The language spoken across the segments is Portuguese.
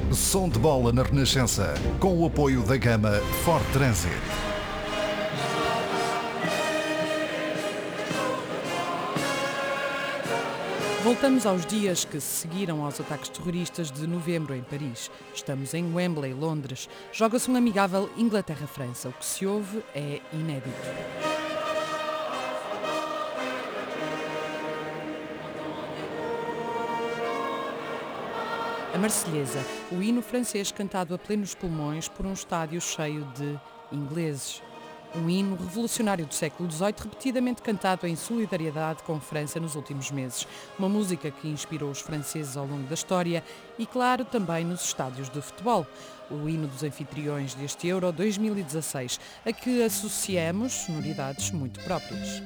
Som de bola na Renascença, com o apoio da gama Ford Transit. Voltamos aos dias que se seguiram aos ataques terroristas de novembro em Paris. Estamos em Wembley, Londres. Joga-se um amigável Inglaterra-França. O que se ouve é inédito. A Marselhesa, o hino francês cantado a plenos pulmões por um estádio cheio de ingleses. Um hino revolucionário do século XVIII, repetidamente cantado em solidariedade com França nos últimos meses. Uma música que inspirou os franceses ao longo da história e, claro, também nos estádios de futebol. O hino dos anfitriões deste Euro 2016, a que associamos sonoridades muito próprias.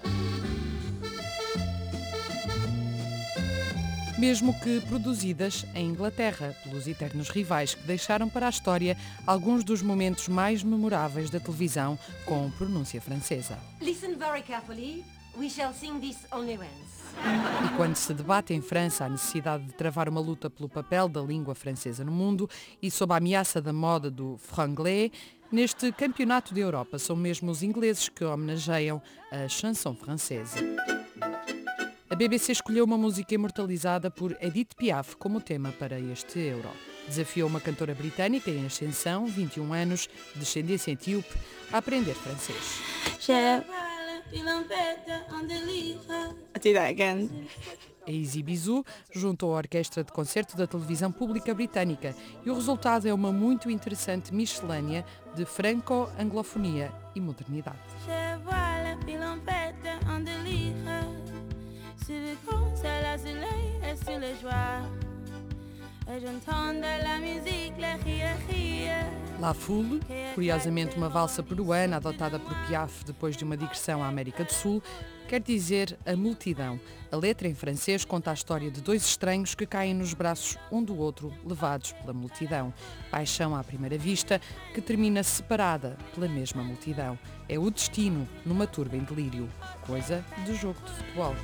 Mesmo que produzidas em Inglaterra, pelos eternos rivais que deixaram para a história alguns dos momentos mais memoráveis da televisão com pronúncia francesa. Listen very carefully. We shall sing this only once. E quando se debate em França a necessidade de travar uma luta pelo papel da língua francesa no mundo e sob a ameaça da moda do franglais, neste campeonato da Europa são mesmo os ingleses que homenageiam a chanson francesa. A BBC escolheu uma música imortalizada por Edith Piaf como tema para este Euro. Desafiou uma cantora britânica em ascensão, 21 anos, descendência etíope, a aprender francês. I'll do that again. A Easy Bizou juntou a orquestra de concerto da televisão pública britânica e o resultado é uma muito interessante miscelânea de franco-anglofonia e modernidade. La Foule, curiosamente uma valsa peruana adotada por Piaf depois de uma digressão à América do Sul, quer dizer a multidão. A letra em francês conta a história de dois estranhos que caem nos braços um do outro, levados pela multidão. Paixão à primeira vista, que termina separada pela mesma multidão. É o destino numa turba em delírio, coisa de jogo de futebol.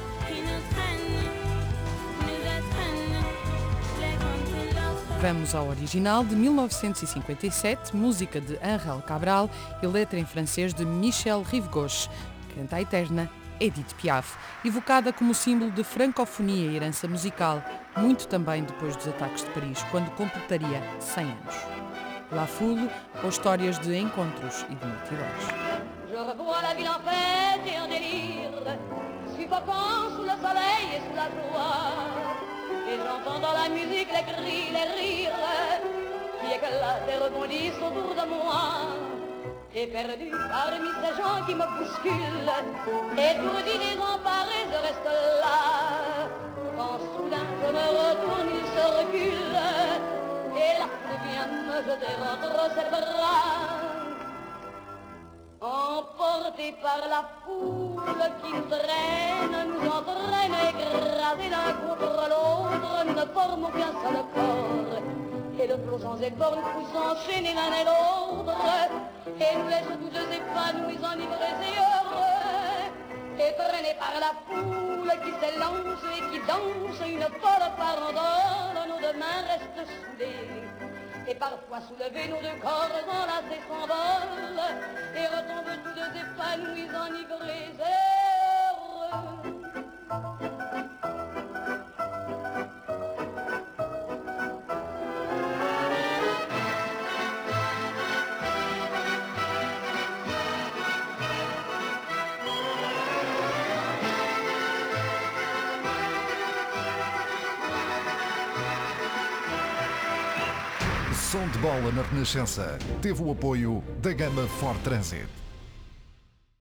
Vamos ao original de 1957, música de Ángel Cabral e letra em francês de Michel Rive-Gauche. Canta a eterna Edith Piaf, evocada como símbolo de francofonia e herança musical, muito também depois dos ataques de Paris, quando completaria 100 anos. La Foule, ou histórias de encontros e de multidões. Je revois la ville en fête et en délire, suffocant sous le soleil et sous la joie. Et j'entends dans la musique les cris, les rires qui éclatent et rebondissent autour de moi. Et perdu parmi ces gens qui me bousculent, étourdi, désemparé, je reste là. Quand soudain je me retourne, il se recule, et la foule vient me jeter entre ses bras. Emportés par la foule qui nous traîne, nous entraîne, écrasés l'un contre l'autre, nous ne formons qu'un seul corps. Et le flot sans effort nous pousse enchaîner l'un et l'autre, et nous laisse tous deux épanouis, enivrés et heureux, et traînés par la foule qui s'élance et qui danse une folle farandole, nos deux mains restent soudées. Et parfois soulevés, nos deux corps enlacés s'envolent et retombent tous deux épanouis, enivrés et heureux. Som de bola na Renascença teve o apoio da gama Ford Transit.